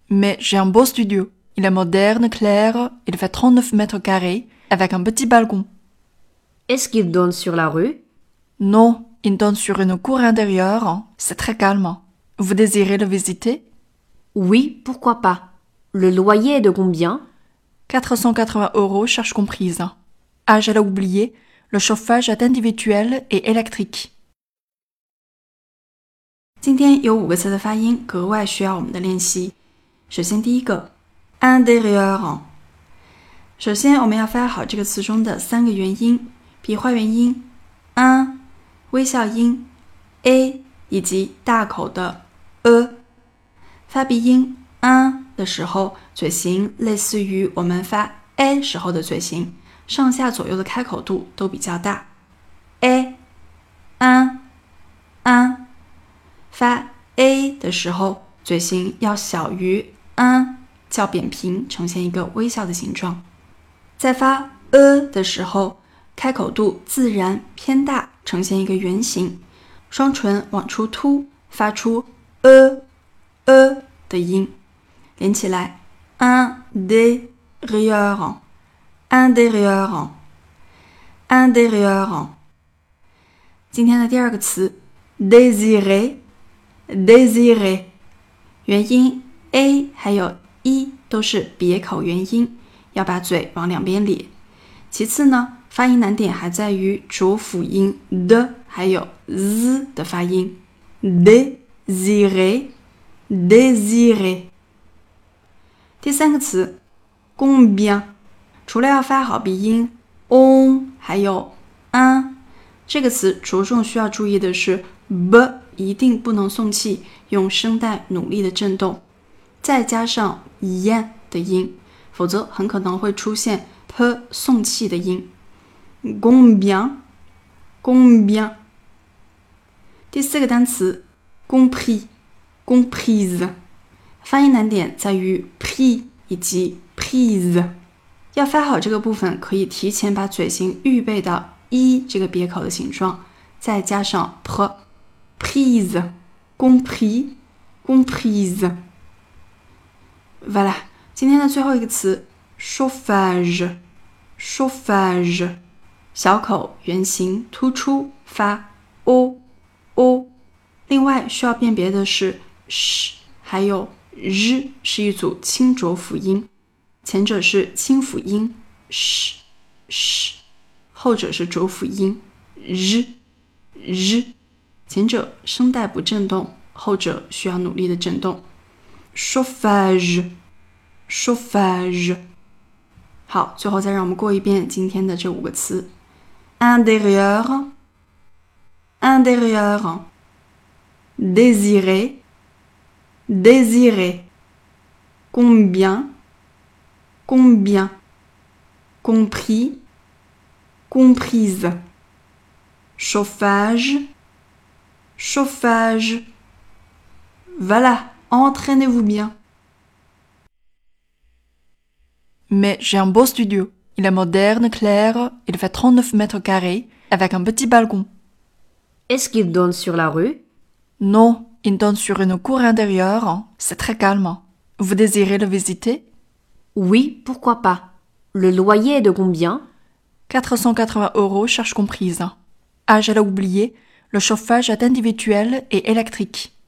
Mais j'ai un beau studio. Il est moderne, clair, il fait 39 mètres carrés, avec un petit balcon. Est-ce qu'il donne sur la rue? Non, il donne sur une cour intérieure, c'est très calme. Vous désirez le visiter? Oui, pourquoi pas. Le loyer est de combien? 480 € charges comprises. Ah, j'allais oublier, le chauffage est individuel et électrique. 今天有5个词的发音格外需要我们的练习。首先第一个 intérieur。首先我们要发好这个词中的3个元音，笔画元音 un、微笑音 a 以及大口的 发鼻音 un 的时候，嘴型类似于我们发 a 时候的嘴型，上下左右的开口度都比较大。a un。发 a 的时候，嘴型要小于 un， 较扁平，呈现一个微笑的形状。在发 的时候，开口度自然偏大，呈现一个圆形，双唇往出凸，发出的音，连起来 intérieur。今天的第2个词 désirer， 元音 a 还有 e 都是别口元音，要把嘴往两边咧。其次呢，发音难点还在于浊辅音的还有 z 的发音 désirer。第3个词 combien， 除了要发好鼻音 on 还有 un， 这个词着重需要注意的是 b 一定不能送气，用声带努力的震动，再加上 yen 的音，否则很可能会出现 p 送气的音。combien。第4个单词 comprise， 发音难点在于 p 以及 prise， 要发好这个部分，可以提前把嘴型预备到 e 这个别口的形状，再加上 prise， comprise。 Voilà， 今天的最后一个词 chauffage， 小口圆形突出，发 o。另外需要辨别的是 sh 还有 r 是一组清浊辅音，前者是清辅音 sh， 后者是浊辅音 r， 前者声带不震动，后者需要努力的震动。chauffage。 好，最后再让我们过一遍今天的这5个词 intérieur， désirer， combien， compris， comprise， chauffage。Voilà, entraînez-vous bien. Mais j'ai un beau studio. Il est moderne, clair, il fait 39 mètres carrés, avec un petit balcon. Est-ce qu'il donne sur la rue? Non, il donne sur une cour intérieure, c'est très calme. Vous désirez le visiter? Oui, pourquoi pas. Le loyer est de combien? 480 € charges comprises. Ah, j'allais oublier, le chauffage est individuel et électrique.